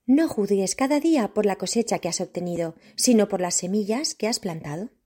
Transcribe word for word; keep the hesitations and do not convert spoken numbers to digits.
No juzgues cada día por la cosecha que has obtenido, sino por las semillas que has plantado.